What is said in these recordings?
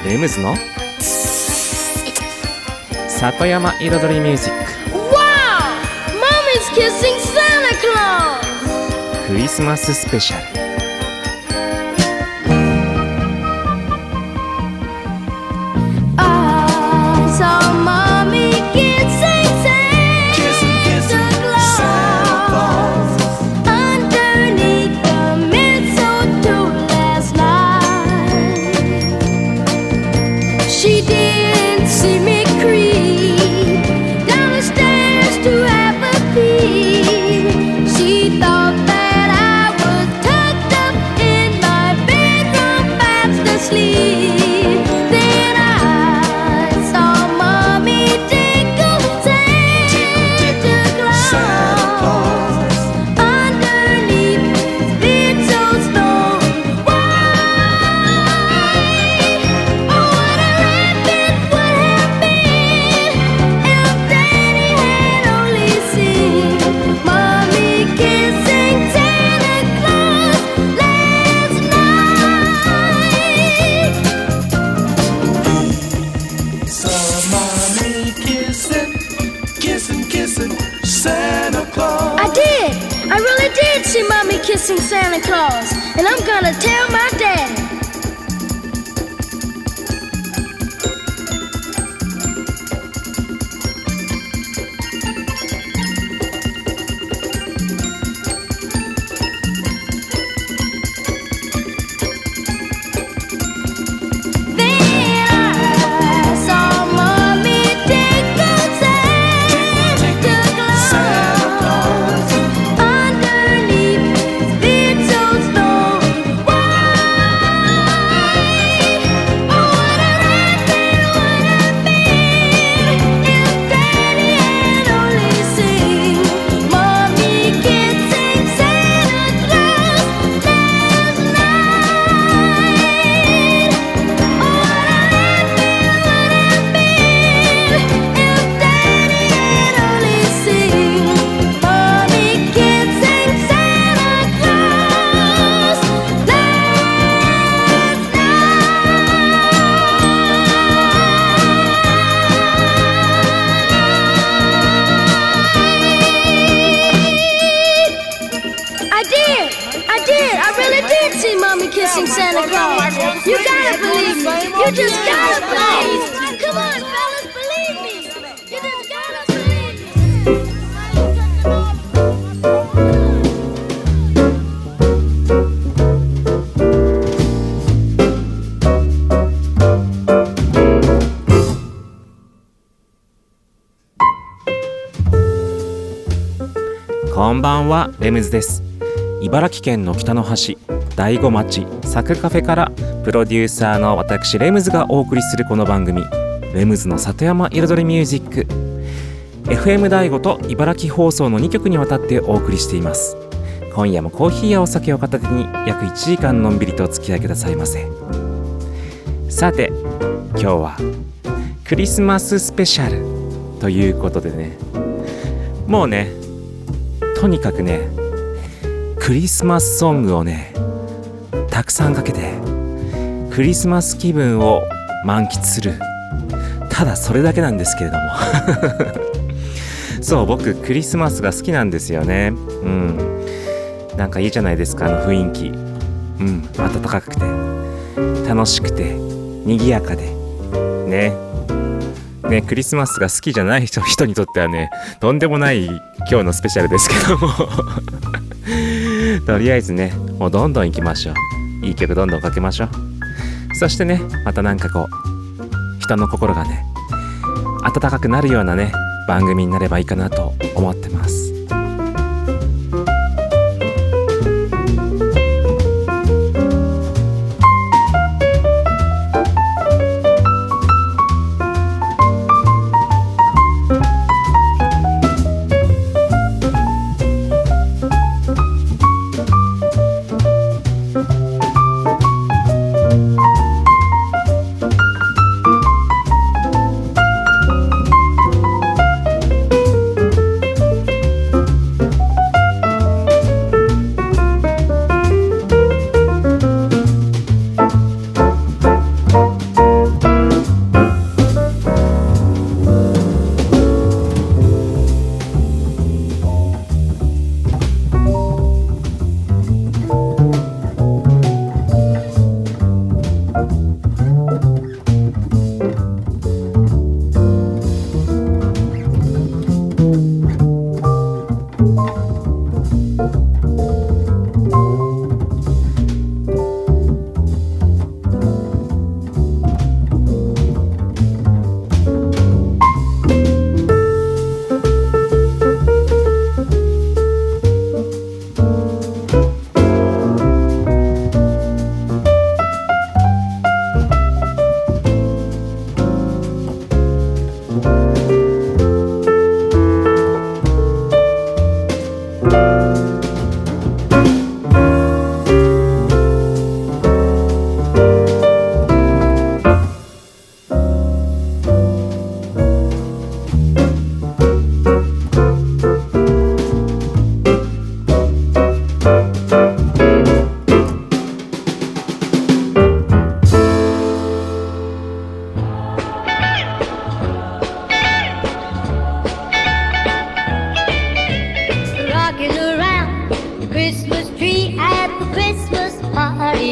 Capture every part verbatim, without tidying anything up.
レムズの里山彩りミュージック。 Wow! Mommy's kissing Santa Claus! クリスマススペシャル。 Kissing Santa Claus, and I'm gonna tell my daddy. Kissing Santa Claus. You gotta believe me. You just gotta believe me. Come on, fellas, believe me. You just gotta believe me. こんばんは、レムズです。茨城県の北の端大子町サクカフェからプロデューサーの私レムズがお送りするこの番組、レムズの里山彩りミュージック。 エフエム 大子と茨城放送のにきょくにわたってお送りしています。今夜もコーヒーやお酒を片手に約いちじかんのんびりとお付き合いくださいませ。さて今日はクリスマススペシャルということでね、もうねとにかくねクリスマスソングをねたくさんかけてクリスマス気分を満喫する、ただそれだけなんですけれどもそう僕クリスマスが好きなんですよね。うんなんかいいじゃないですか、あの雰囲気。うん暖かくて楽しくて賑やかでねねクリスマスが好きじゃない人, 人にとってはねとんでもない今日のスペシャルですけどもとりあえずねもうどんどん行きましょう。いい曲どんどんかけましょう。そしてねまたなんかこう人の心がね温かくなるようなね番組になればいいかなと思ってます。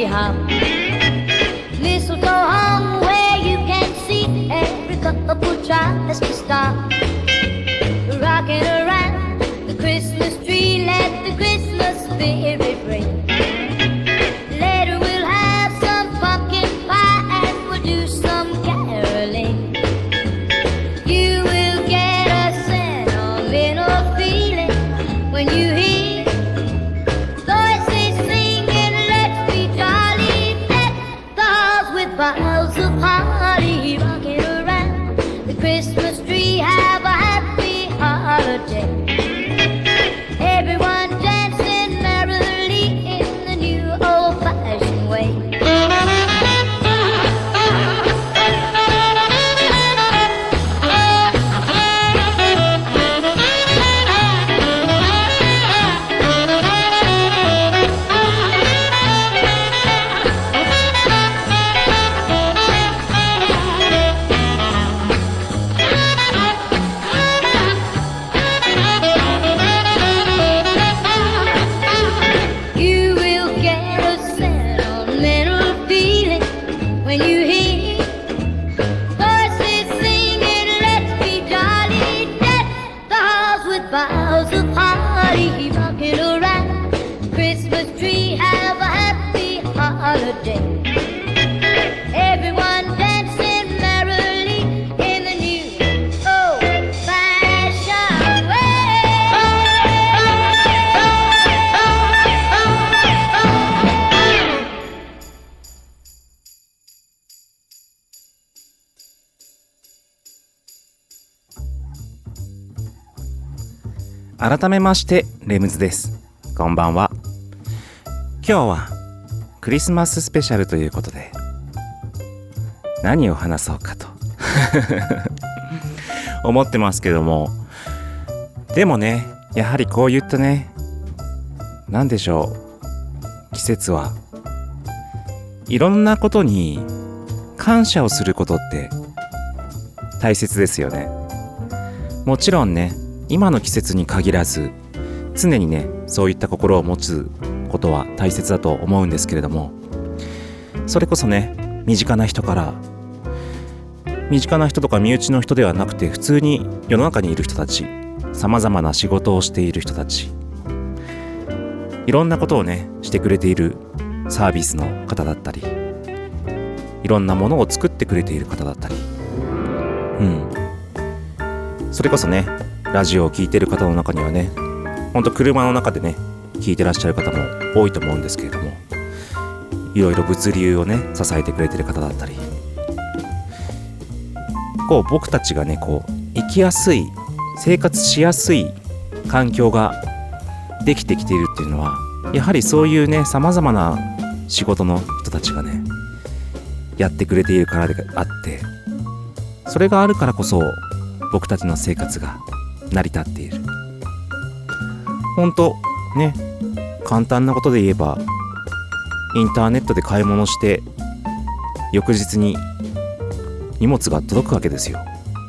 holly hop. Mistletoe hung where you can see every couple tries to stop. Rocking around the Christmas tree, let the Christmas spirit ring. Later we'll have some pumpkin pie and we'll do some caroling. You will get a sentimental feeling when you hear voices singing, let's be jolly, deck the halls with boughs of holly. Rocking around the Christmas tree, have a happy holiday. Everyone dancing merrily in the new old-fashioned way. You will get a sentimental feeling when you hear voices singing, let's be jolly, deck the halls with boughs of holly. Rocking around the Christmas tree, have a happy holiday. Everyone dancing merrily in the new old-fashioned way. 改めましてレムズです。こんばんは。今日はクリスマススペシャルということで何を話そうかと思ってますけども、でもね、やはりこういったね、なんでしょう、季節はいろんなことに感謝をすることって大切ですよね。もちろんね、今の季節に限らず常にね、そういった心を持つことは大切だと思うんですけれども、それこそね、身近な人から身近な人とか身内の人ではなくて、普通に世の中にいる人たち、さまざまな仕事をしている人たち、いろんなことをねしてくれているサービスの方だったり、いろんなものを作ってくれている方だったり、うんそれこそね、ラジオを聞いている方の中にはね、ほんと車の中でね聞いてらっしゃる方も多いと思うんですけれども、いろいろ物流をね支えてくれている方だったり、こう僕たちがねこう生きやすい、生活しやすい環境ができてきているっていうのは、やはりそういうねさまざまな仕事の人たちがねやってくれているからであって、それがあるからこそ僕たちの生活が成り立っている。ほんとね、簡単なことで言えばインターネットで買い物して翌日に荷物が届くわけですよ。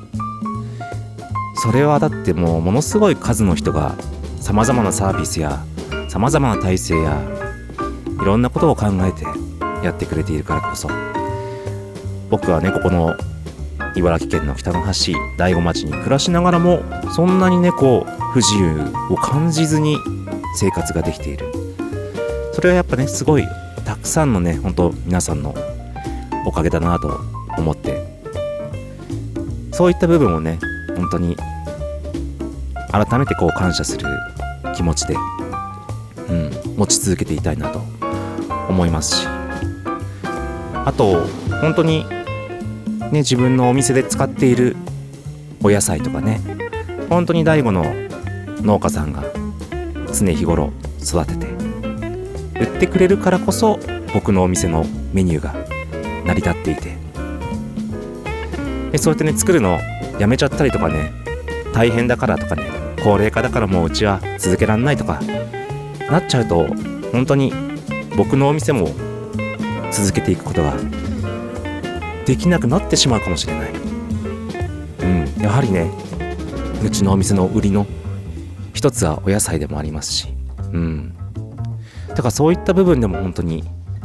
それはだってもうものすごい数の人がさまざまなサービスやさまざまな体制やいろんなことを考えてやってくれているからこそ、僕はねここの茨城県の北の端大子町に暮らしながらもそんなにねこう不自由を感じずに生活ができている。それはやっぱねすごいたくさんのね本当皆さんのおかげだなと思って、そういった部分をね本当に改めてこう感謝する気持ちで、うん、持ち続けていたいなと思いますし、あと本当にね自分のお店で使っているお野菜とかね、本当に大子の農家さんが常日頃育てて売ってくれるからこそ僕のお店のメニューが成り立っていて、でそうやってね作るのやめちゃったりとかね、大変だからとかね、高齢化だからもううちは続けらんないとかなっちゃうと、本当に僕のお店も続けていくことができなくなってしまうかもしれない。うん、やはりねうちのお店の売りの一つはお野菜でもありますし、うん、だからそういった部分でも本当に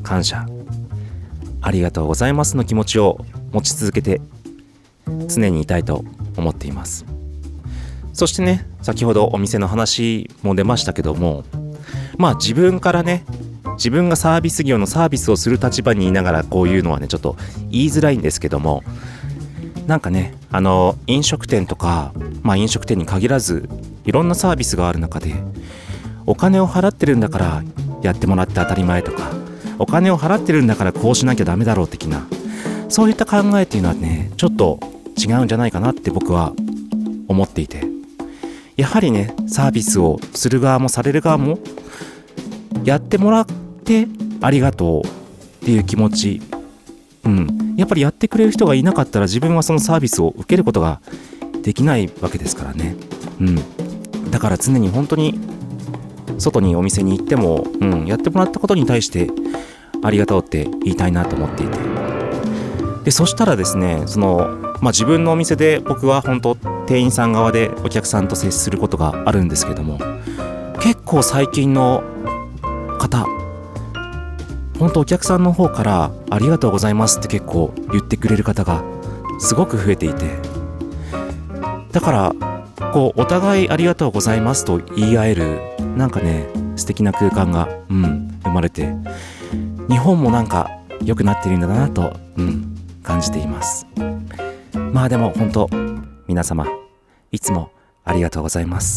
感謝、ありがとうございますの気持ちを持ち続けて常にいたいと思っています。そしてね、先ほどお店の話も出ましたけども、まあ自分からね、自分がサービス業のサービスをする立場にいながらこういうのはねちょっと言いづらいんですけども、なんかね、あの飲食店とか、まあ飲食店に限らずいろんなサービスがある中で、お金を払ってるんだからやってもらって当たり前とか、お金を払ってるんだからこうしなきゃダメだろう的な、そういった考えっていうのはねちょっと違うんじゃないかなって僕は思っていて、やはりねサービスをする側もされる側もやってもらってありがとうっていう気持ち、うん、やっぱりやってくれる人がいなかったら自分はそのサービスを受けることができないわけですからね、うん、だから常に本当に外にお店に行っても、うん、やってもらったことに対してありがとうって言いたいなと思っていて、でそしたらですね、その、まあ、自分のお店で僕は本当店員さん側でお客さんと接することがあるんですけども、結構最近の方、本当お客さんの方からありがとうございますって結構言ってくれる方がすごく増えていて、だからこうお互いありがとうございますと言い合える、なんかね素敵な空間が、うん、生まれて、日本もなんか良くなっているんだなと、うん、感じています。まあでも本当皆様いつもありがとうございます。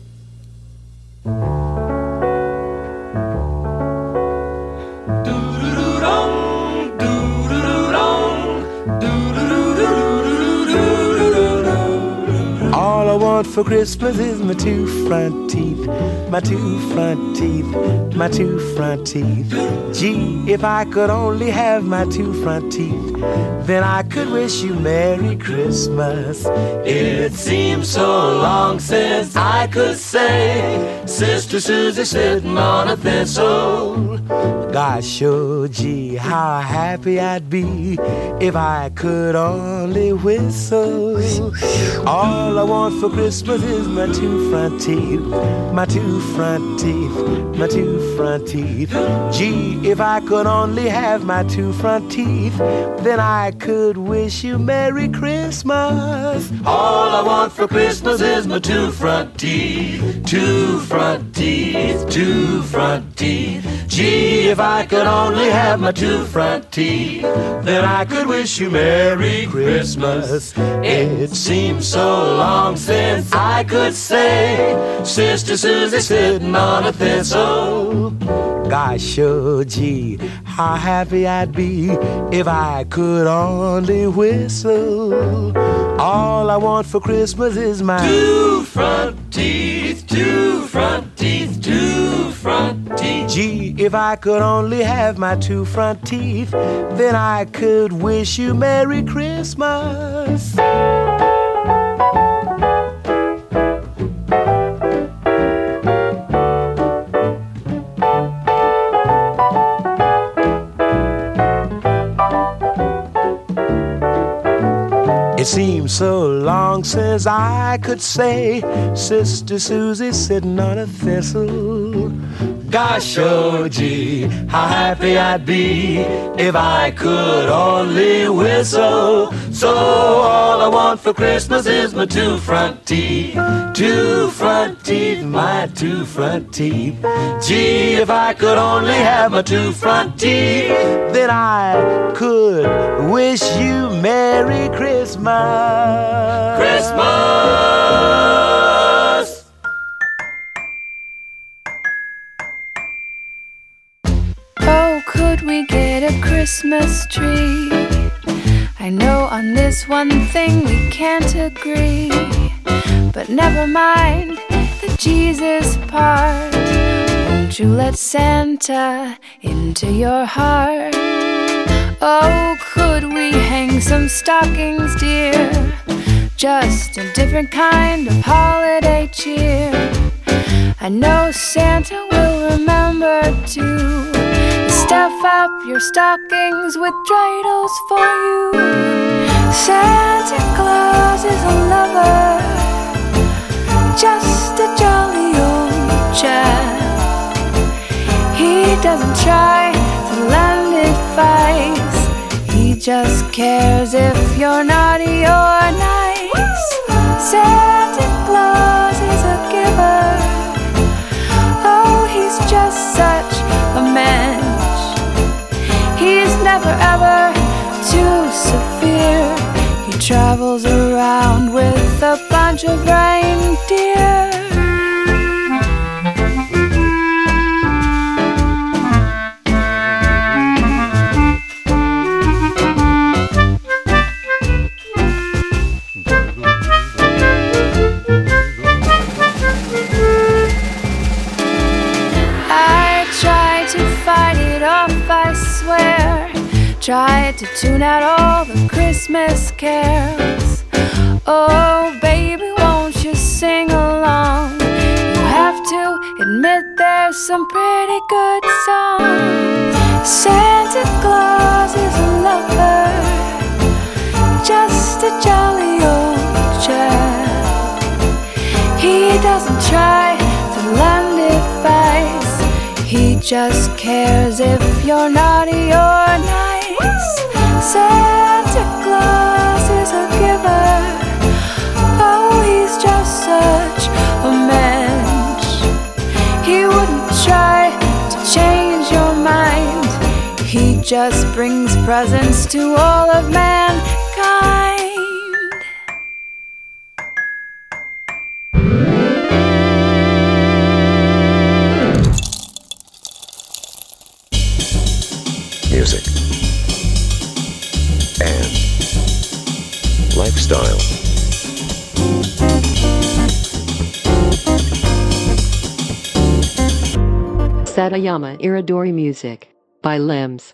For Christmas is my two front teeth, my two front teeth, my two front teeth. Gee, if I could only have my two front teeth, then I could wish you Merry Christmas. It seems so long since I could say Sister Susie sitting on a thistle. Gosh, oh gee, how happy I'd be if I could only whistle. All I want for Christmas is my two front teeth, my two front teeth, my two front teeth. Gee, if I could only have my two front teeth, then I could wish you Merry Christmas. All I want for Christmas is my two front teeth, two front teeth, two front teeth. Gee, if I could only have my two front teeth, then I could wish you Merry Christmas. It seems so long since I could say Sister Susie sitting on a thistle. Gosh, oh gee, how happy I'd be if I could only whistle. All I want for Christmas is my two front teeth, two front teeth, two front teeth. Gee, if I could only have my two front teeth, then I could wish you Merry Christmas. It seems so long since I could say Sister Susie sitting on a thistle. Gosh, oh gee, how happy I'd be if I could only whistle. So all I want for Christmas is my two front teeth, two front teeth, my two front teeth. Gee, if I could only have my two front teeth, then I could wish you Merry Christmas. Christmas! Oh, could we get a Christmas tree? I know on this one thing we can't agree, but never mind the Jesus part. Won't you let Santa into your heart? Oh, could we hang some stockings, dear? Just a different kind of holiday cheer. I know Santa will remember to stuff up your stockings with dreidels for you. Santa Claus is a lover, just a jolly old chap. He doesn't try to laugh just cares if you're naughty or nice. Santa Claus is a giver. Oh, he's just such a mensch. He's never ever too severe. He travels around with a bunch of reindeer. I swear, tried to tune out all the Christmas carols. Oh baby, won't you sing along? You have to admit there's some pretty good songs. Santa Claus is a lover, just a jolly old chap. He doesn't try to lend advice. He just cares if you're naughty or nice. Santa Claus is a giver. Oh, he's just such a mensch. He wouldn't try to change your mind. He just brings presents to all of mankind. Music and lifestyle. Satayama Iridori Music by Lems.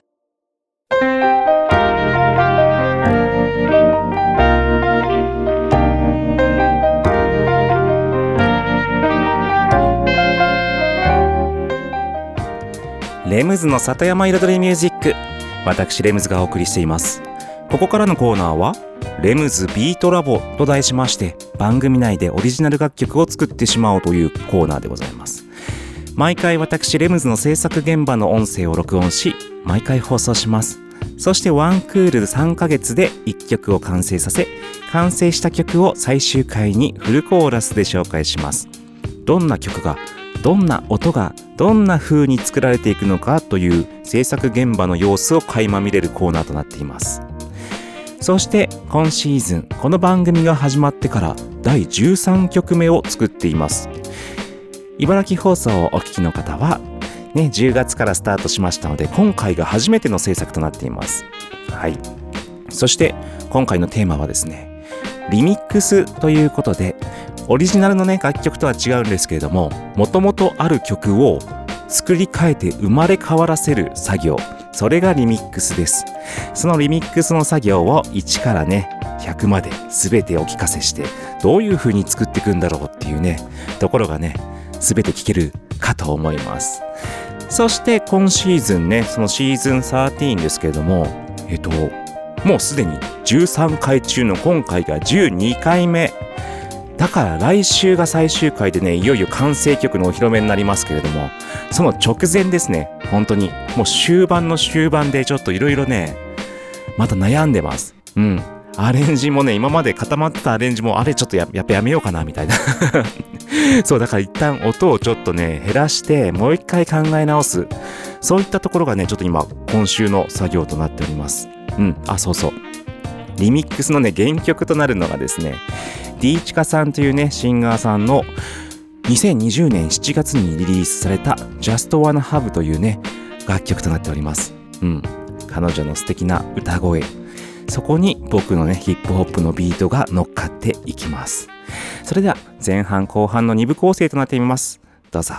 レムズの里山彩りミュージック、私レムズがお送りしています。ここからのコーナーはレムズビートラボと題しまして、番組内でオリジナル楽曲を作ってしまおうというコーナーでございます。毎回私レムズの制作現場の音声を録音し、毎回放送します。そしてワンクールさんかげつでいっきょくを完成させ、完成した曲を最終回にフルコーラスで紹介します。どんな曲が、どんな音が、どんな風に作られていくのかという制作現場の様子を垣間見れるコーナーとなっています。そして今シーズン、この番組が始まってからだいじゅうさんきょくめを作っています。茨城放送をお聞きの方は、ね、じゅうがつからスタートしましたので、今回が初めての制作となっています。はい。そして今回のテーマはですね、リミックスということで、オリジナルのね、楽曲とは違うんですけれども、もともとある曲を作り変えて生まれ変わらせる作業、それがリミックスです。そのリミックスの作業をいちからね、ひゃくまで全てお聞かせして、どういう風に作っていくんだろうっていうね、ところがね、全て聞けるかと思います。そして今シーズンね、そのシーズンじゅうさんですけれども、えっともうすでにじゅうさんかい中の今回がじゅうにかいめだから、来週が最終回でね、いよいよ完成曲のお披露目になりますけれども、その直前ですね、本当にもう終盤の終盤でちょっといろいろね、また悩んでます。うん、アレンジもね、今まで固まってたアレンジもあれちょっと や, やっぱやめようかなみたいなそうだから一旦音をちょっとね減らしてもう一回考え直す、そういったところがねちょっと今今週の作業となっております。うん、あ、そうそう、リミックスのね原曲となるのがですね、ディーチカさんというねシンガーさんのにせんにじゅうねんしちがつにリリースされた Just Wanna Have というね楽曲となっております。うん、彼女の素敵な歌声、そこに僕のねヒップホップのビートが乗っかっていきます。それでは前半後半のに部構成となっています。どうぞ。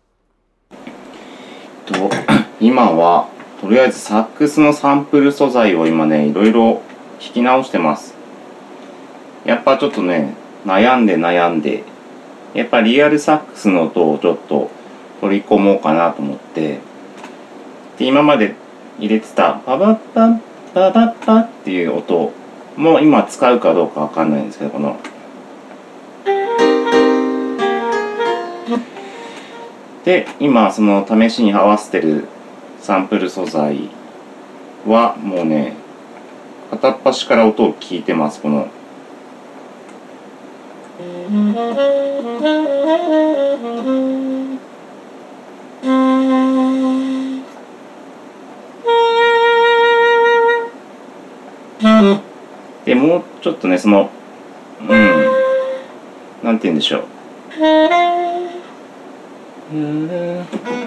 と今はとりあえずサックスのサンプル素材を今ねいろいろ弾き直してます。やっぱちょっとね悩んで悩んでやっぱリアルサックスの音をちょっと取り込もうかなと思って、で今まで入れてたパパッパッパパッパっていう音も今使うかどうかわかんないんですけど、こので今その試しに合わせてるサンプル素材はもうね片っ端から音を聞いてます。このでもうちょっとね、そのうんなんて言うんでしょう、うん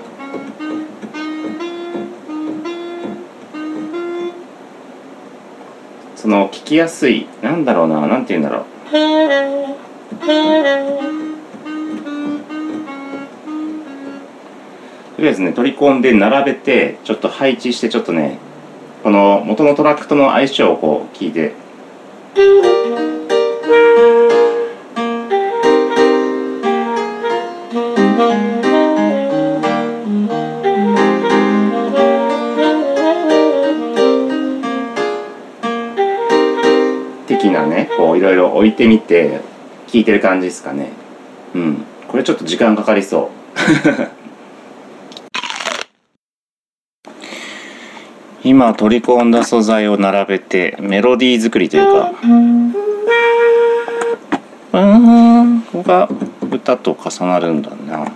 その聞きやすい、なんだろうな、なんて言うんだろう、とりあえずね取り込んで並べてちょっと配置して、ちょっとねこの元のトラックとの相性をこう聞いて、的なね、こういろいろ置いてみて聞いてる感じですかね。うん、これちょっと時間かかりそう今取り込んだ素材を並べてメロディー作りというか、うんここが歌と重なるんだな。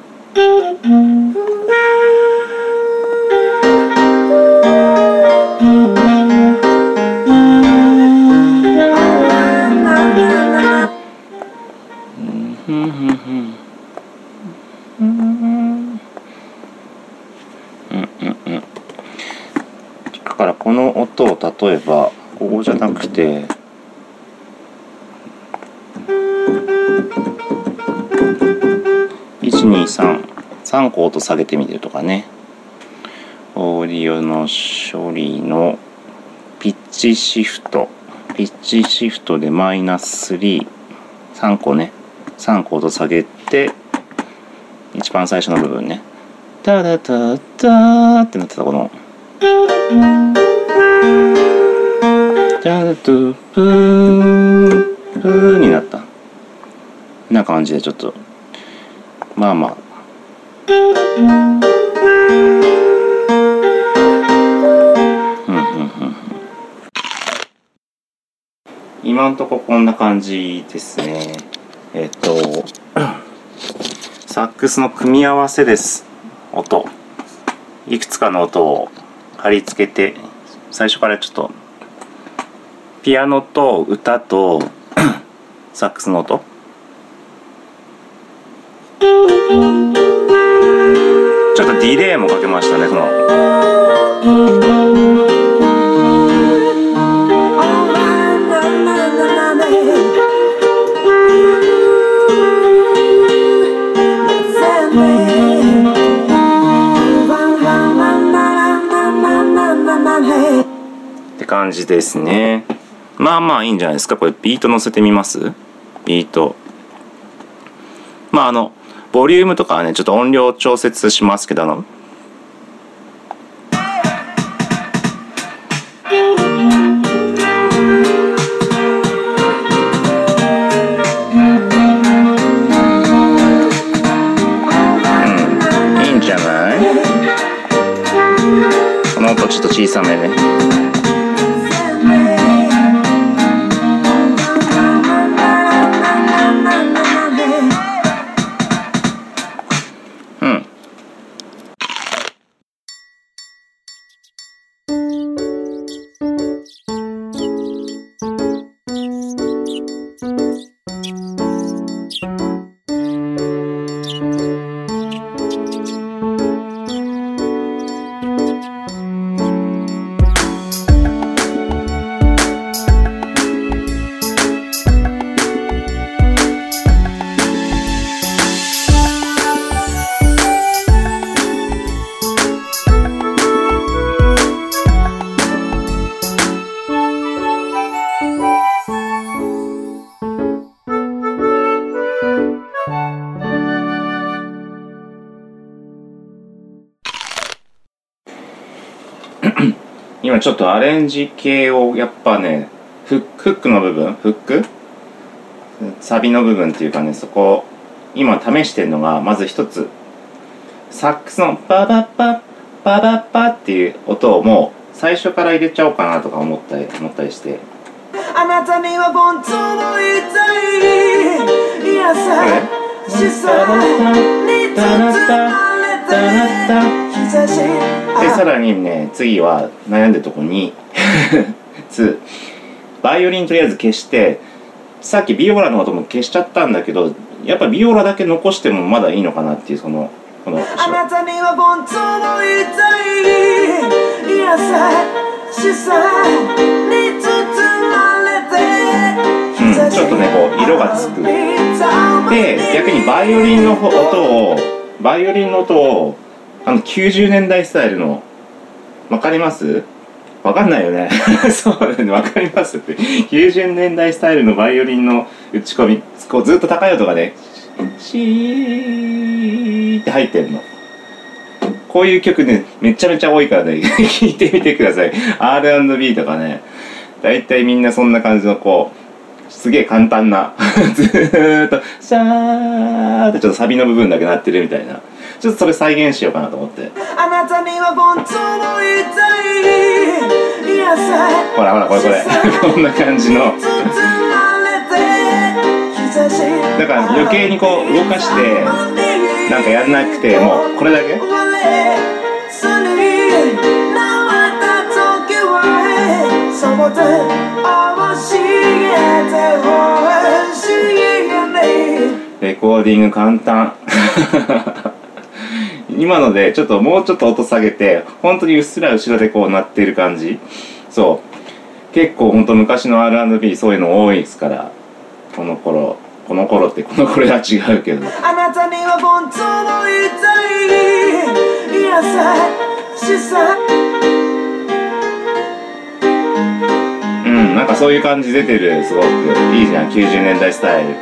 だからこの音を例えばここじゃなくていちにさん さんこ音下げてみるとかね。オーディオの処理のピッチシフトピッチシフトでマイナスさん さんこね、さんこ音下げて一番最初の部分ね、タダタタってなってたこのタダトプープーになったな感じで、ちょっとまあまあうんうんうん、今んとここんな感じですね。えっとサックスの組み合わせです。音いくつかの音を貼り付けて、最初からちょっとピアノと歌とサックスの音、ちょっとディレイもかけましたね。そのって感じですね。まあまあいいんじゃないですか。これビート乗せてみます。ビートまああのボリュームとかはねちょっと音量調節しますけど、あのうんいいんじゃない。この音ちょっと小さめね。今ちょっとアレンジ系をやっぱね、フック、フックの部分、フックサビの部分っていうかね、そこ今試してるのが、まず一つサックスのパパパパパパっていう音をも最初から入れちゃおうかなとか思ったり思ったりして。 あなたには本当の言いたい優しさに包まれて日差しでさらにね次は悩んでるとこにつバイオリンとりあえず消してさっきビオラの音も消しちゃったんだけどやっぱビオラだけ残してもまだいいのかなっていうそのこのあなたには本当の言いたい優しさに包まれて、 うん、ちょっとねこう色がつくで逆にバイオリンの音をバイオリンの音をあのきゅうじゅうねんだいスタイルのわかります？わかんないよねそうだねわかりますってきゅうじゅうねんだいスタイルのバイオリンの打ち込みこうずっと高い音がねシーって入ってんの。こういう曲ねめちゃめちゃ多いからね聴いてみてください。 アールアンドビー とかねだいたいみんなそんな感じのこうすげえ簡単なずーっとシャーってちょっとサビの部分だけ鳴ってるみたいなちょっとそれ再現しようかなと思ってあなたには本当の言いたい優しさほらほらこれこれこんな感じのだから余計にこう動かしてなんかやんなくてもうこれだけレコーディング簡単今のでちょっともうちょっと音下げて本当にうっすら後ろでこう鳴ってる感じそう結構本当昔の アールアンドビー そういうの多いですからこの頃この頃ってこの頃は違うけどあなたには本当の言いたい優しさうんなんかそういう感じ出てるすごくいいじゃんきゅうじゅうねんだいスタイル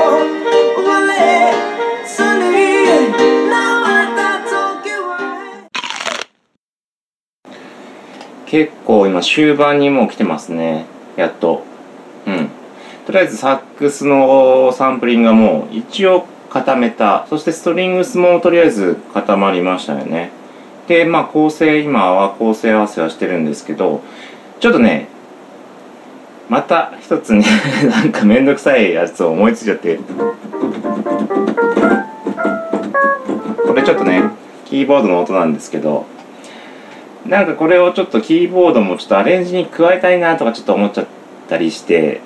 結構今終盤にもう来てますねやっとうんとりあえずサックスのサンプリングがもう一応固めたそしてストリングスもとりあえず固まりましたよねでまあ構成今は構成合わせはしてるんですけどちょっとねまた一つねなんかめんどくさいやつを思いついちゃってこれちょっとねキーボードの音なんですけどなんかこれをちょっとキーボードもちょっとアレンジに加えたいなとかちょっと思っちゃったりして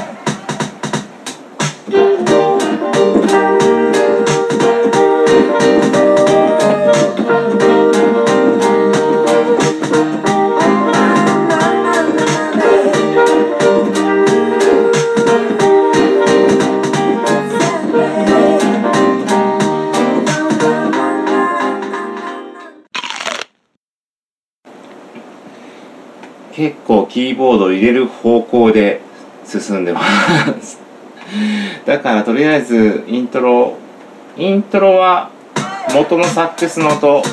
結構キーボードを入れる方向で進んでますだからとりあえずイントロイントロは元のサックスの音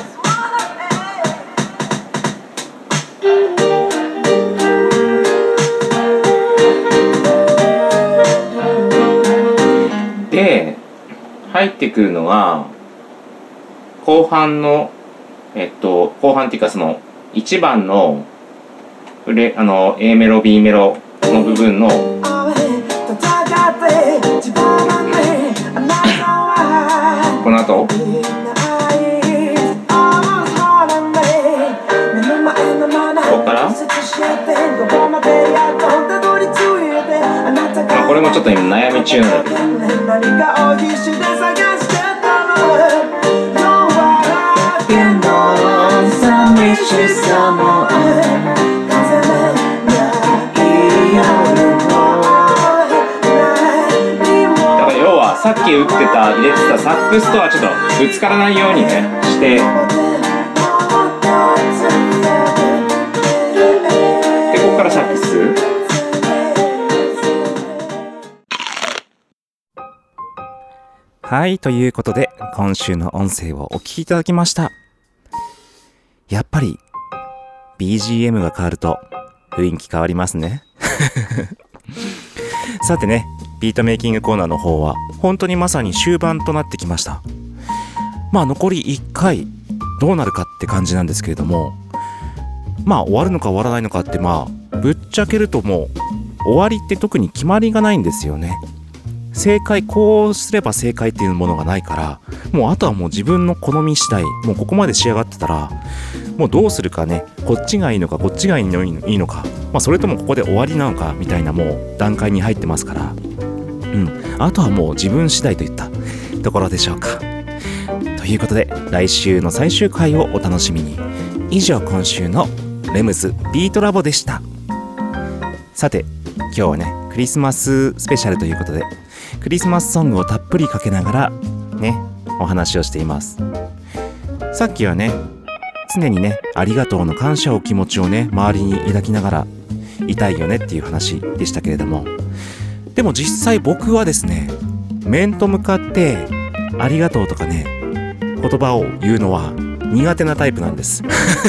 で入ってくるのが後半のえっと後半っていうかそのいちばんのフレあの A メロ B メロの部分のこの後ここから、まあ、これもちょっと今悩み中なんだけどさっき打ってた入れてたサックスとはちょっとぶつからないようにねしてでここからサックスはいということで今週の音声をお聞きいただきました。やっぱり ビージーエム が変わると雰囲気変わりますねさてねビートメイキングコーナーの方は本当にまさに終盤となってきました。まあ残りいっかいどうなるかって感じなんですけれどもまあ終わるのか終わらないのかって、まあぶっちゃけるともう終わりって特に決まりがないんですよね。正解、こうすれば正解っていうものがないから、もうあとはもう自分の好み次第、もうここまで仕上がってたらもうどうするかね、こっちがいいのかこっちがいいのいいのか、まあ、それともここで終わりなのかみたいなもう段階に入ってますから、うん、あとはもう自分次第といったところでしょうか。ということで来週の最終回をお楽しみに。以上今週のレムズビートラボでした。さて今日はねクリスマススペシャルということで、クリスマスソングをたっぷりかけながらねお話をしています。さっきはね常にねありがとうの感謝を気持ちをね周りに抱きながらいたいよねっていう話でしたけれども、でも実際僕はですね面と向かってありがとうとかね言葉を言うのは苦手なタイプなんです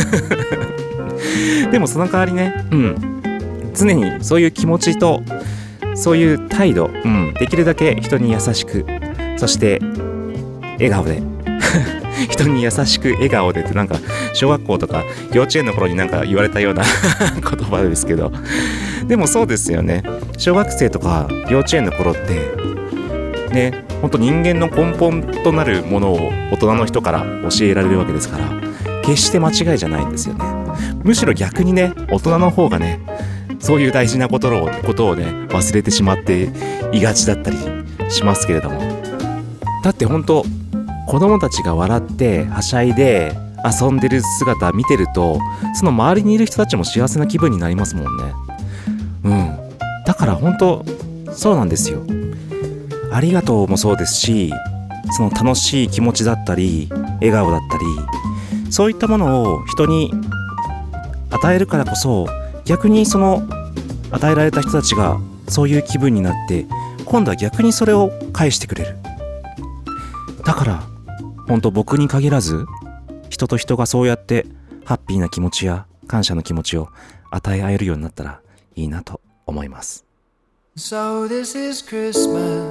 でもその代わりね、うん常にそういう気持ちとそういう態度、うん、できるだけ人に優しく、そして笑顔で人に優しく笑顔でって、なんか小学校とか幼稚園の頃になんか言われたような言葉ですけど、でもそうですよね。小学生とか幼稚園の頃ってね、ほんと人間の根本となるものを大人の人から教えられるわけですから、決して間違いじゃないんですよね。むしろ逆にね大人の方がねそういう大事なことを、ことをね忘れてしまっていがちだったりしますけれども、だって本当子供たちが笑ってはしゃいで遊んでる姿見てると、その周りにいる人たちも幸せな気分になりますもんね。うんだから本当そうなんですよ。ありがとうもそうですし、その楽しい気持ちだったり笑顔だったり、そういったものを人に与えるからこそ、逆にその与えられた人たちがそういう気分になって今度は逆にそれを返してくれる。だから本当僕に限らず人と人がそうやってハッピーな気持ちや感謝の気持ちを与え合えるようになったらいいなと思います。 So this is Christmas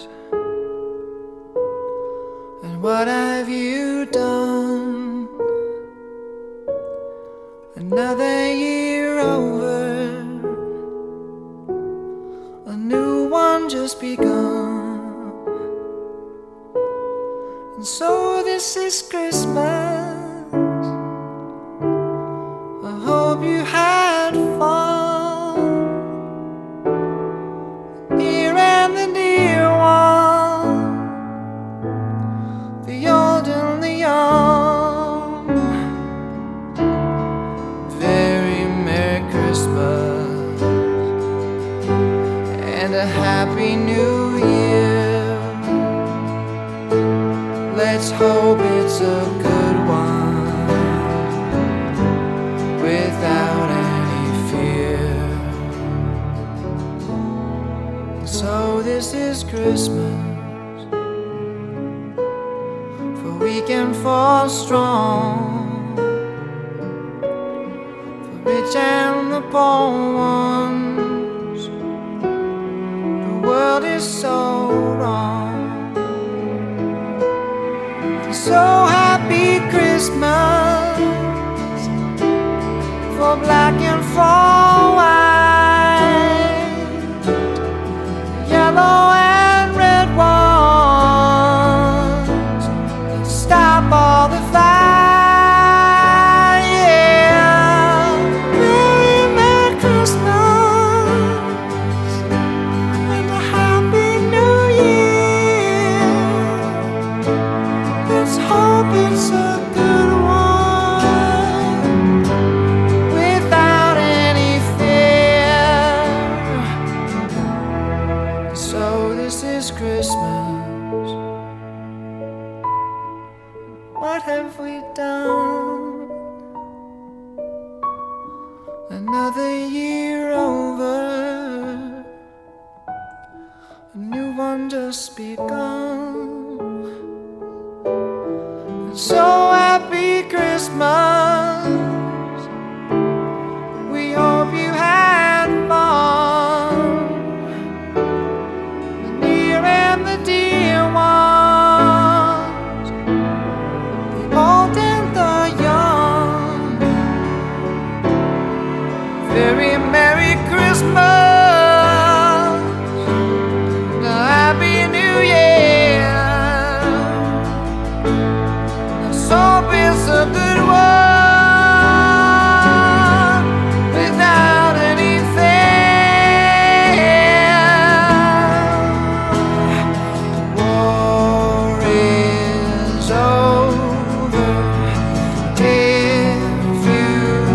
and what have you done? Another year over, a new one just begun. And so this is Christmas. I hope you had fun, near and the near one, the old and the young. And a happy new year. Let's hope it's a good one, without any fear. So this is Christmas, for weak and for strong, for rich and the poor ones. The world is so wrong. So happy Christmas, for black and for white, yellow and red ones. Let's stop all the fight, yeah. Merry, Merry Christmas and a Happy New Year. Let's hope it's a good one, without any fear. So this is Christmas. What have we done? Another year over, a new one just begun. And so happy Christmas, we hope you had fun, the near and the dear ones, the old and the young. very Merry Christmas, a Happy New Year. Let's hope it's a good one without any fear. War is over. If you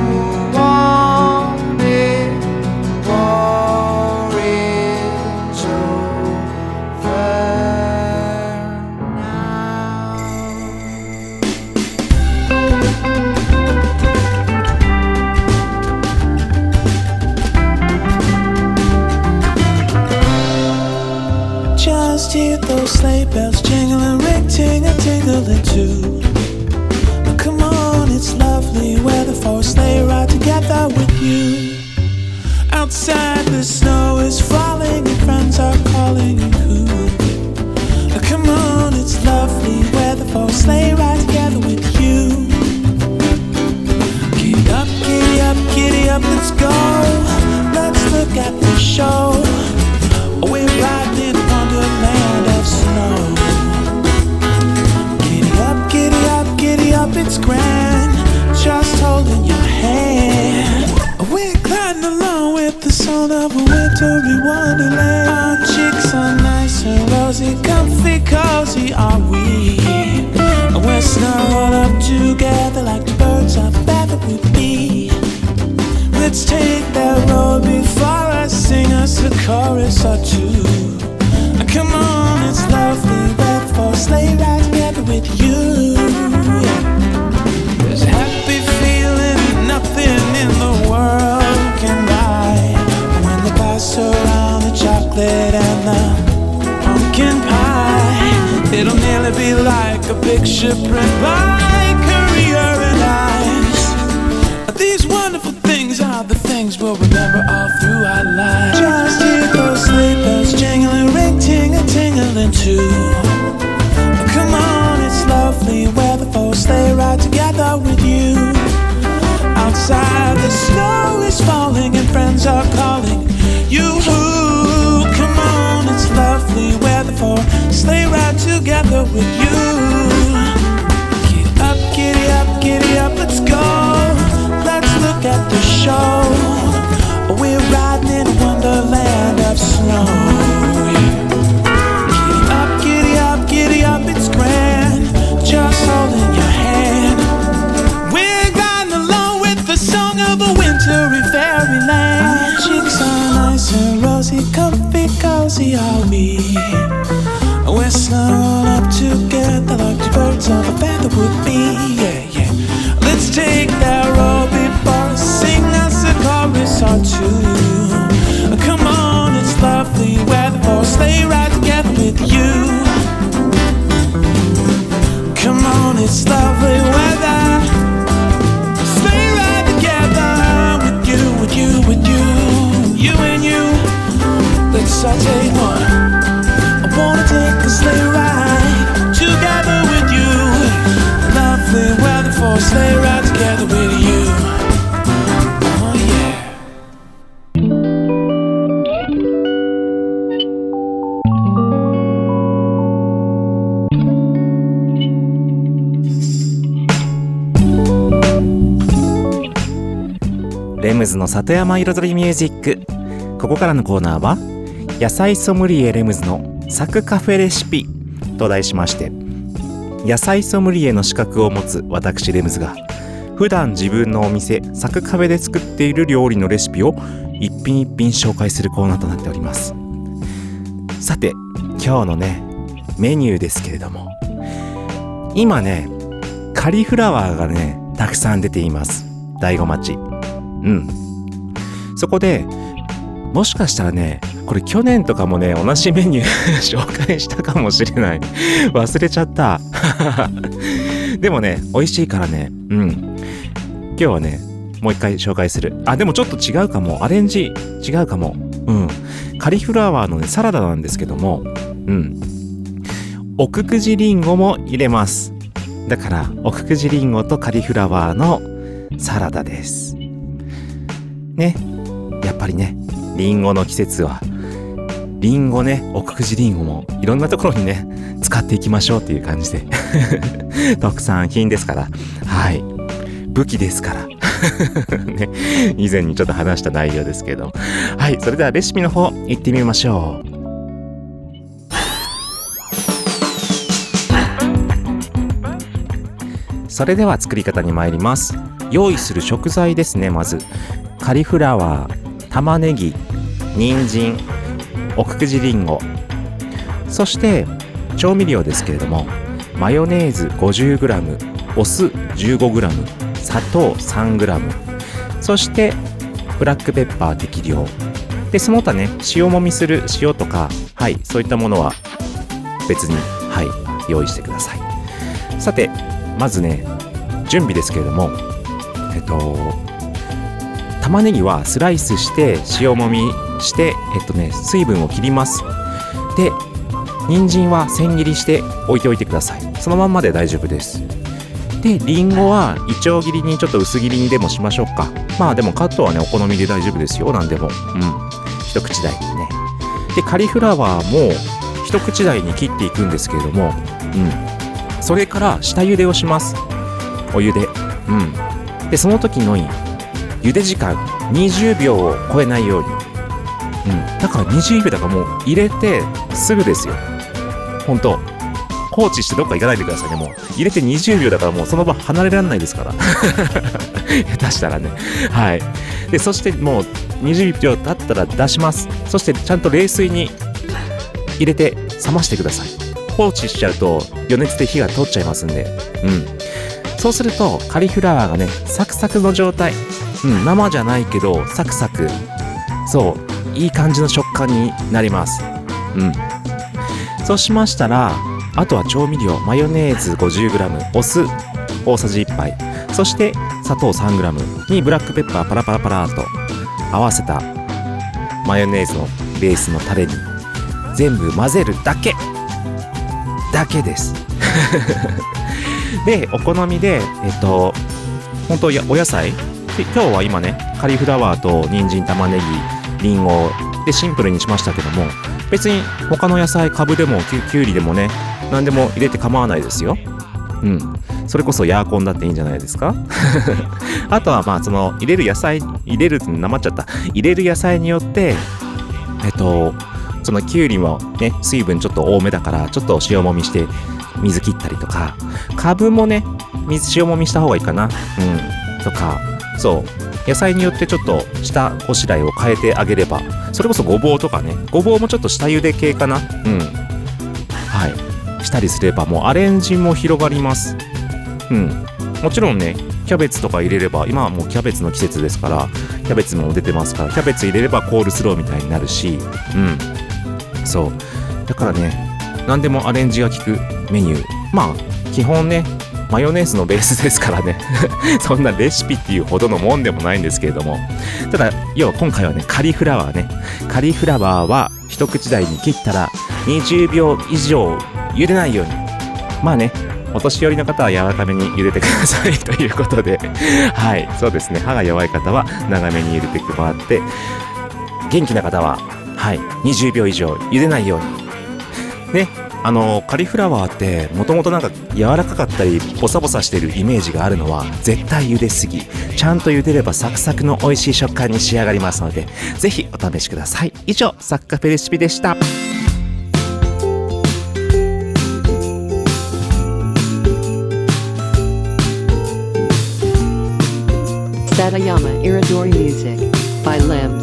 want it, war is over now. Just hear those sleigh bells jingling, ring, ting, a tingling too. Oh, come on, it's lovely weather for a sleigh ride together with you. Outside the snow is falling and friends are calling you cool. Oh, come on, it's lovely weather for a sleigh ride together with you. Giddy up, giddy up, giddy up, let's go. Let's look at the show. We're riding in a wonderland of snow. Giddy up, giddy up, giddy up, it's grand. Just holding your hand. We're gliding along with the sound of a wintry wonderland. Our cheeks are nice and rosy, comfy, cozy are we. We're snuggled up together like the birds of a feather would be. Let's take that road before us, sing us a chorus or two. Come on, it's lovely weather for a sleigh ride together with you. There's a happy feeling nothing in the world can buy. When they pass around the chocolate and the pumpkin pie, it'll nearly be like a picture print by Currier and Ives. These wonderful things are the things we'll remember all through our lives. Just hear those sleigh bells jingling, ring, ting, a tingling too. Come on, it's lovely weather for a sleigh ride together with you. Outside the snow is falling and friends are calling you. Come on, it's lovely weather for a sleigh ride together with you. Giddy up, giddy up, giddy up, let's go. Let's look at the show. We're riding in a wonderland of snow. Giddy up, giddy up, giddy up, it's grand. Just holding your hand. We're riding along with the song of a wintry fairyland. Our cheeks are nice and rosy, comfy, cozy are we. We're snuggled up together like the birds of a feather would be. Yeah, yeah. Let's take that road before us, sing us a chorus or two. Come on, it's lovely weather for a sleigh ride together with you. Come on, it's lovely weather. Sleigh ride together with you, with you, with you, you and you. Let's all take one. I wanna take a sleigh ride together with you. Lovely weather for a sleigh ride together with you. Oh yeah. レムズの里山彩りミュージック。ここからのコーナーは野菜ソムリエレムズのサクカフェレシピと題しまして、野菜ソムリエの資格を持つ私レムズが普段自分のお店サクカフェで作っている料理のレシピを一品一品紹介するコーナーとなっております。さて今日のねメニューですけれども、今ねカリフラワーがねたくさん出ています。大子町。うん。そこでもしかしたらね、これ去年とかもね同じメニュー紹介したかもしれない。忘れちゃった。でもね美味しいからね。うん。今日はねもう一回紹介する。あ、でもちょっと違うかも。アレンジ違うかも。うん。カリフラワーのねサラダなんですけども、うん。奥久慈リンゴも入れます。だから奥久慈リンゴとカリフラワーのサラダです。 ね、やっぱりね、リンゴの季節はリンゴね、奥久慈リンゴもいろんなところにね使っていきましょうっていう感じで特産品ですから、はい、武器ですからね、以前にちょっと話した内容ですけど、はい、それではレシピの方行ってみましょう。それでは作り方に参ります。用意する食材ですね。まずカリフラワー、玉ねぎ、人参、奥久慈りんご、そして調味料ですけれども、マヨネーズ ごじゅうグラム、 お酢 じゅうごグラム、 砂糖 さんグラム、 そしてブラックペッパー適量で、その他ね、塩もみする塩とか、はい、そういったものは別に、はい、用意してください。さてまずね、準備ですけれども、えっと玉ねぎはスライスして塩もみしてえっとね水分を切ります。で、人参は千切りして置いておいてください。そのまんまで大丈夫です。で、リンゴはイチョウ切りにちょっと薄切りにでもしましょうか。まあでもカットはねお好みで大丈夫ですよ。なんでも、うん、一口大にね。で、カリフラワーも一口大に切っていくんですけれども、うん、それから下茹でをします。お湯で、うん。で、その時の茹で時間にじゅうびょうを超えないように、うん、だからにじゅうびょうだからもう入れてすぐですよ。ほんと放置してどっか行かないでくださいね。もう入れてにじゅうびょうだからもうその場離れられないですから下手したらね、はい。で、そしてもうにじゅうびょう経ったら出します。そしてちゃんと冷水に入れて冷ましてください。放置しちゃうと余熱で火が通っちゃいますんで、うん。そうするとカリフラワーがねサクサクの状態、うん、生じゃないけどサクサク、そういい感じの食感になります。うん。そうしましたら、あとは調味料、マヨネーズ ごじゅうグラム、 お酢大さじいっぱい、そして砂糖 さんグラム にブラックペッパーパラパラパラーと合わせたマヨネーズのベースのタレに全部混ぜるだけだけですで、お好みでえっと本当やお野菜で、今日は今ねカリフラワーと人参、玉ねぎ、リンゴでシンプルにしましたけども、別に他の野菜、カブでもきゅ, きゅうりでもね何でも入れて構わないですよ。うん。それこそヤーコンだっていいんじゃないですかあとはまあその入れる野菜入れるってなまっちゃった入れる野菜によってえっとそのきゅうりもね水分ちょっと多めだからちょっと塩もみして水切ったりとか、カブもね水塩もみした方がいいかな、うんとか、そう野菜によってちょっと下ごしらえを変えてあげれば、それこそごぼうとかね、ごぼうもちょっと下茹で系かな、うんはいしたりすればもうアレンジも広がります。うん、もちろんねキャベツとか入れれば、今はもうキャベツの季節ですからキャベツも出てますから、キャベツ入れればコールスローみたいになるし、うんそうだからね何でもアレンジが効くメニュー、まあ基本ねマヨネーズのベースですからねそんなレシピっていうほどのもんでもないんですけれども、ただ要は今回はねカリフラワーねカリフラワーは一口大に切ったらにじゅうびょう以上茹でないように、まあねお年寄りの方は柔らかめに茹でてくださいということではいそうですね、歯が弱い方は長めに茹でてもらって、元気な方ははいにじゅうびょう以上茹でないようにね。あのカリフラワーってもともとなんか柔らかかったりボサボサしてるイメージがあるのは絶対茹ですぎ、ちゃんと茹でればサクサクの美味しい食感に仕上がりますので、ぜひお試しください。以上サクカフェレシピでした。 Satayama Iridori Music by Limbs.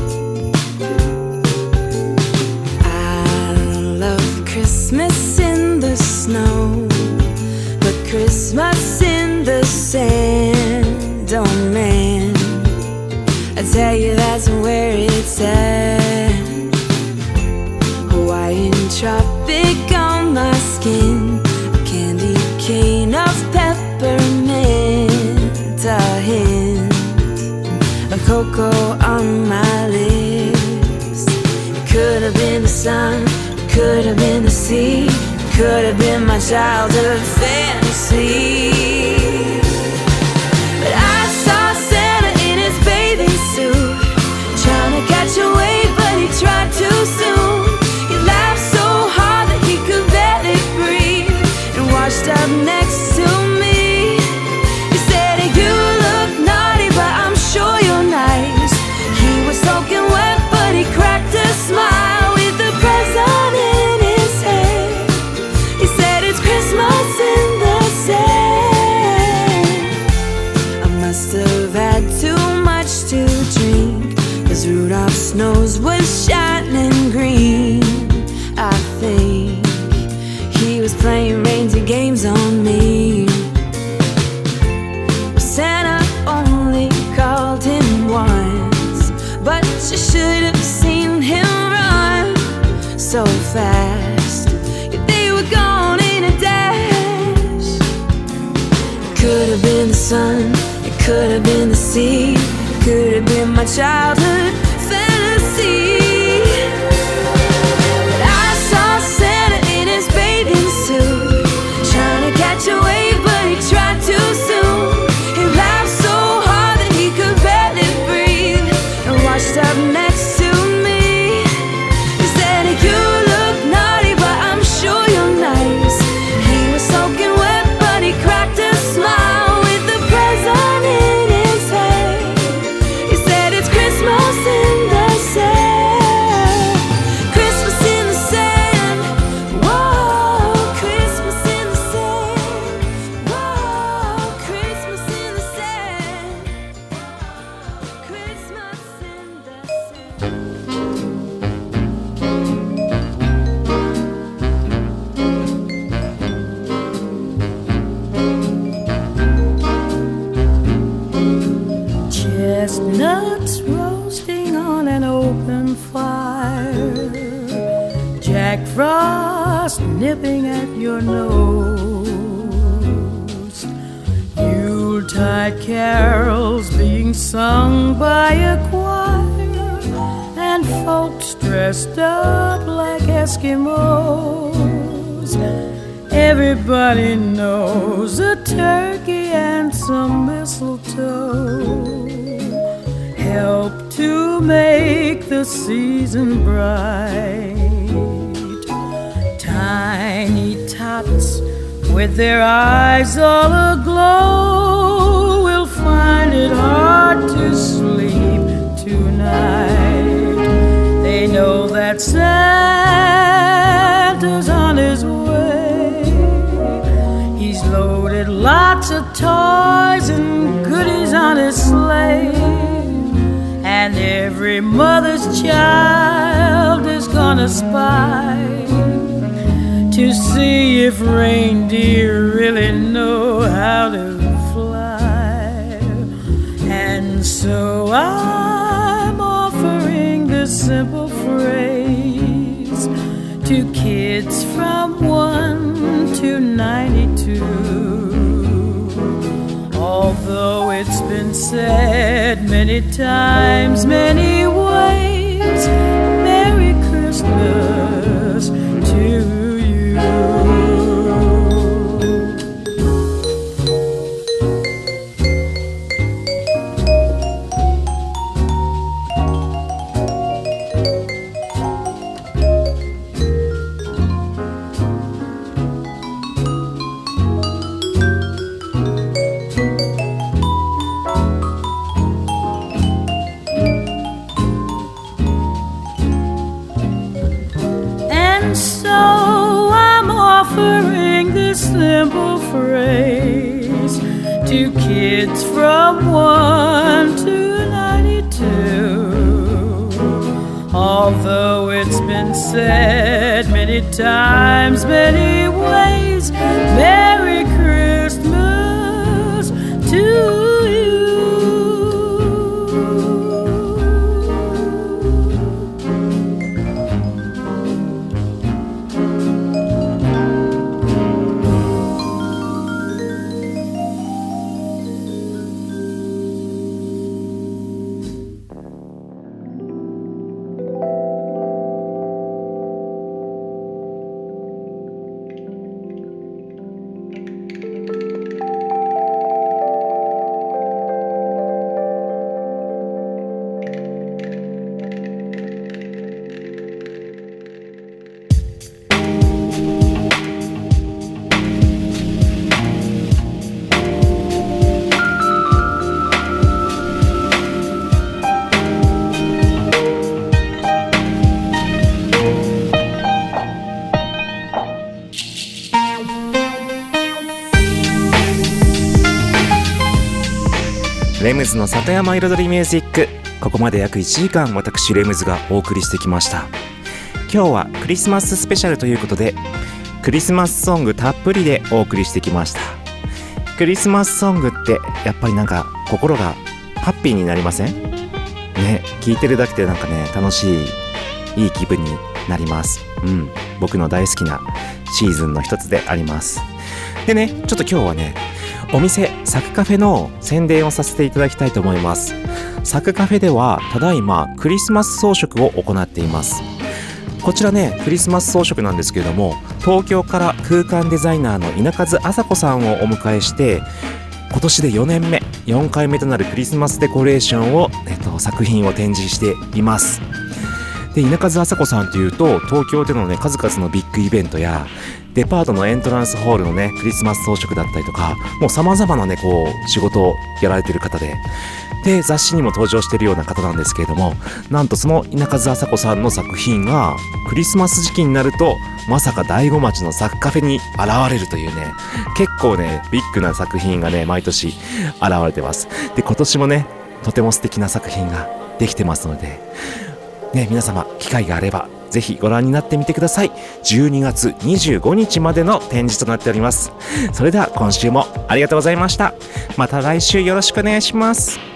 Christmas in the snow, but Christmas in the sand. Oh man, I tell you that's where it's at. Hawaiian tropic on my skin, a candy cane of peppermint, a hint of cocoa on my lips. It could have been the sun, could have been the sea, could have been my childhood fantasy. But I saw Santa in his bathing suit, soft snows was shining green. I think he was playing reindeer games on me. Santa only called him once, but you should have seen him run so fast. Yeah, they were gone in a dash. It could have been the sun, it could have been the sea, it could have been my childhood fantasy. But I saw Santa in his bathing suit, trying to catch a wave, but he tried too soon. He laughed so hard that he could barely breathe, and washed up next to me. He said, you look naughty, but I'm sure you're nice. He was soaking wet, but he cracked a smile with the present in his hand. He said, it's Christmas in the sand. Christmas in the sand. Whoa, Christmas in the sand. Whoa, Christmas in the sand. Christmas in the sand. Chestnuts roasting on an open fire, Jack Frost nipping at your nose, Yuletide carols being sung by a choir, and folks dressed up like Eskimos. Everybody knows a turkey and some mistletoe help to make the season bright. Tiny tots with their eyes all aglow will find it hard to sleep tonight. They know that Santa's on his way. He's loaded lots of toys and goodies on his sleigh, and every mother's child is gonna spy to see if reindeer really know how to fly. And so I'm offering this simple phrase to kids from one to ninety-two. Although it's been said many times, many ways, Merry Christmas to you. Simple phrase to kids from one to ninety-two. Although it's been said many times, many ways, Merry Christmas to you. レムズの里山彩りミュージック、 ここまで約いちじかん私レムズがお送りしてきました。今日はクリスマススペシャルということでクリスマスソングたっぷりでお送りしてきました。クリスマスソングってやっぱりなんか心がハッピーになりません？ね、聴いてるだけでなんかね楽しいいい気分になります。うん、僕の大好きなシーズンの一つであります。でね、ちょっと今日はねお店サクカフェの宣伝をさせていただきたいと思います。サクカフェではただいまクリスマス装飾を行っています。こちらねクリスマス装飾なんですけれども、東京から空間デザイナーの稲数麻子さんをお迎えして今年でよねんめよんかいめとなるクリスマスデコレーションを、えっと、作品を展示しています。で稲数麻子さんというと東京でのね数々のビッグイベントやデパートのエントランスホールのねクリスマス装飾だったりとか、もう様々なねこう仕事をやられている方でで雑誌にも登場しているような方なんですけれども、なんとその稲数麻子さんの作品がクリスマス時期になるとまさか大子町のサクカフェに現れるというね、結構ねビッグな作品がね毎年現れてます。で今年もねとても素敵な作品ができてますのでね、皆様機会があればぜひご覧になってみてください。じゅうにがつにじゅうごにちまでの展示となっております。それでは今週もありがとうございました。また来週よろしくお願いします。